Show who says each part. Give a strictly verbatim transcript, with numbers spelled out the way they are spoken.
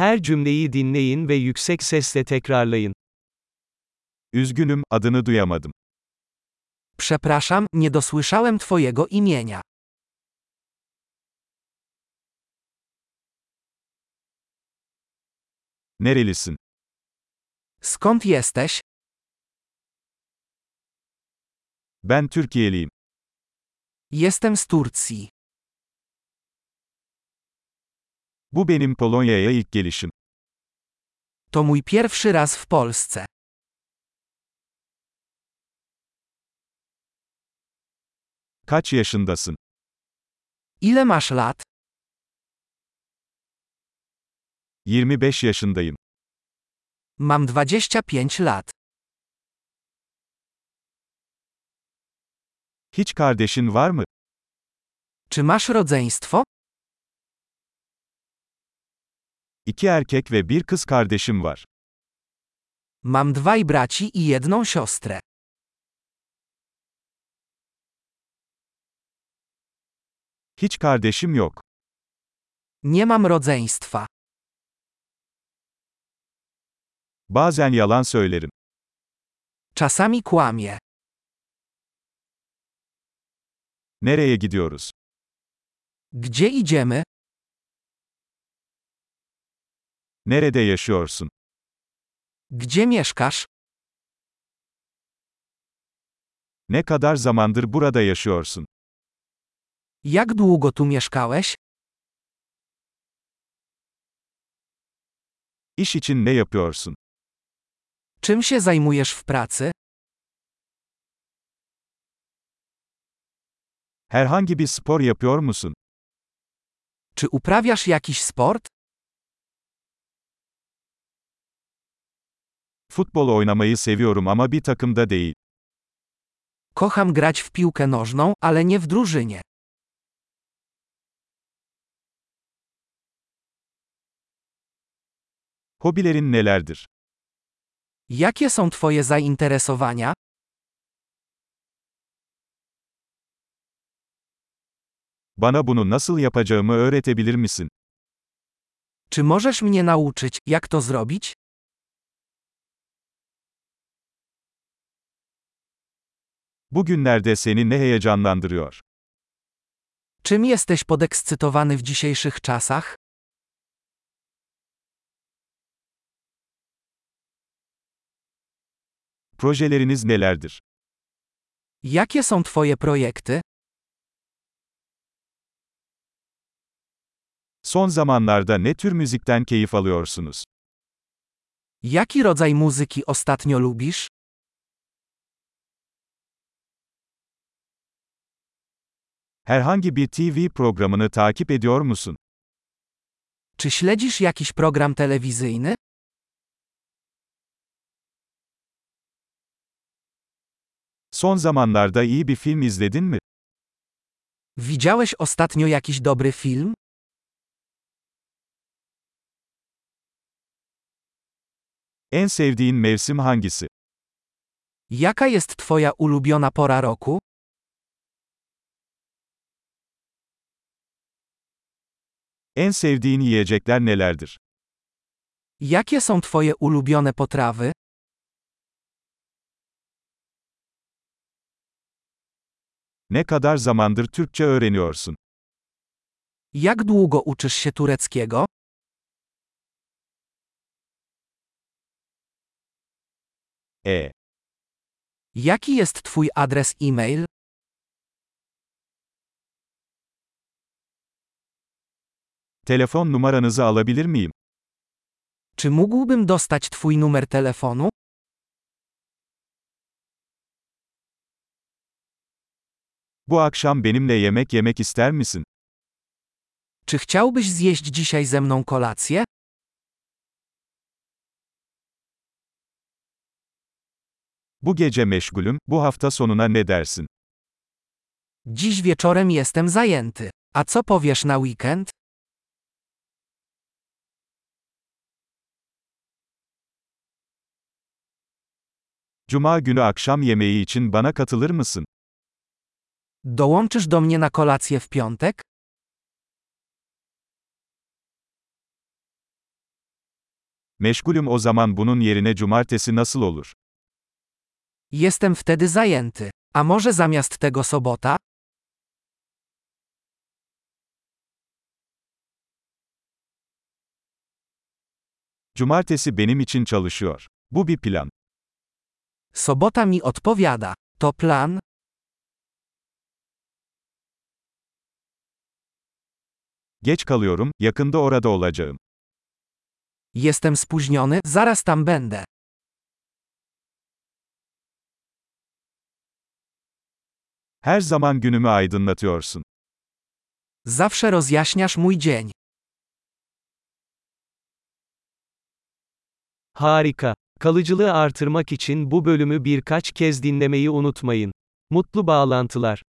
Speaker 1: Her cümleyi dinleyin ve yüksek sesle tekrarlayın.
Speaker 2: Üzgünüm, adını duyamadım.
Speaker 3: Przepraszam, nie dosłyszałem twojego imienia.
Speaker 2: Nerelisin?
Speaker 3: Skąd jesteś?
Speaker 2: Ben Türkiye'liyim.
Speaker 3: Jestem z Turcji.
Speaker 2: Bu benim Polonya'ya ilk gelişim.
Speaker 3: To mój pierwszy raz w Polsce.
Speaker 2: Kaç yaşındasın?
Speaker 3: Ile masz lat?
Speaker 2: yirmi beş yaşındayım.
Speaker 3: Mam dwadzieścia pięć lat.
Speaker 2: Hiç kardeşin var mı?
Speaker 3: Czy masz rodzeństwo?
Speaker 2: İki erkek ve bir kız kardeşim var.
Speaker 3: Mam dwaj braci i jedną siostrę.
Speaker 2: Hiç kardeşim yok.
Speaker 3: Nie mam rodzeństwa.
Speaker 2: Bazen yalan söylerim.
Speaker 3: Czasami kłamię.
Speaker 2: Nereye gidiyoruz?
Speaker 3: Gdzie idziemy?
Speaker 2: Nerede yaşıyorsun?
Speaker 3: Gdzie mieszkasz?
Speaker 2: Ne kadar zamandır burada yaşıyorsun?
Speaker 3: Jak długo tu mieszkałeś?
Speaker 2: İş için ne yapıyorsun?
Speaker 3: Czym się zajmujesz w pracy?
Speaker 2: Herhangi bir spor yapıyor musun?
Speaker 3: Czy uprawiasz jakiś sport?
Speaker 2: Futbol oynamayı seviyorum ama bir takımda değil.
Speaker 3: Kocham grać w piłkę nożną, ale nie w drużynie.
Speaker 2: Hobilerin nelerdir?
Speaker 3: Jakie są twoje zainteresowania?
Speaker 2: Bana bunu nasıl yapacağımı öğretebilir misin?
Speaker 3: Czy możesz mnie nauczyć, jak to zrobić?
Speaker 2: Bugünlerde seni ne heyecanlandırıyor?
Speaker 3: Czym jesteś podekscytowany w dzisiejszych czasach?
Speaker 2: Projeleriniz nelerdir?
Speaker 3: Jakie są twoje projekty?
Speaker 2: Son zamanlarda ne tür müzikten keyif alıyorsunuz?
Speaker 3: Jaki rodzaj muzyki ostatnio lubisz?
Speaker 2: Herhangi bir T V programını takip ediyor musun?
Speaker 3: Czy śledzisz jakiś program telewizyjny?
Speaker 2: Son zamanlarda iyi bir film izledin mi?
Speaker 3: Widziałeś ostatnio jakiś dobry film?
Speaker 2: En sevdiğin mevsim hangisi?
Speaker 3: Jaka jest twoja ulubiona pora roku?
Speaker 2: En sevdiğin yiyecekler nelerdir?
Speaker 3: Jakie są twoje ulubione potrawy?
Speaker 2: Ne kadar zamandır Türkçe öğreniyorsun?
Speaker 3: Jak długo uczysz się tureckiego?
Speaker 2: E.
Speaker 3: Jaki jest twój adres e-mail?
Speaker 2: Telefon numaranızı alabilir miyim?
Speaker 3: Czy mógłbym dostać twój numer telefonu?
Speaker 2: Bu akşam benimle yemek yemek ister misin?
Speaker 3: Czy chciałbyś zjeść dzisiaj ze mną kolację?
Speaker 2: Bu gece meşgulüm, bu hafta sonuna ne dersin?
Speaker 3: Dziś wieczorem jestem zajęty. A co powiesz na weekend?
Speaker 2: Cuma günü akşam yemeği için bana katılır mısın?
Speaker 3: Dołączysz do mnie na kolację w piątek?
Speaker 2: Meşgulüm o zaman bunun yerine cumartesi nasıl olur?
Speaker 3: Jestem wtedy zajęty. A może zamiast tego sobota?
Speaker 2: Cumartesi benim için çalışıyor. Bu bir plan.
Speaker 3: Sobota mi odpowiada. To plan?
Speaker 2: Geç kalıyorum, yakında orada olacağım.
Speaker 3: Jestem spóźniony, zaraz tam będę.
Speaker 2: Her zaman günümü aydınlatıyorsun.
Speaker 3: Zawsze rozjaśniasz mój dzień.
Speaker 1: Harika. Kalıcılığı artırmak için bu bölümü birkaç kez dinlemeyi unutmayın. Mutlu bağlantılar.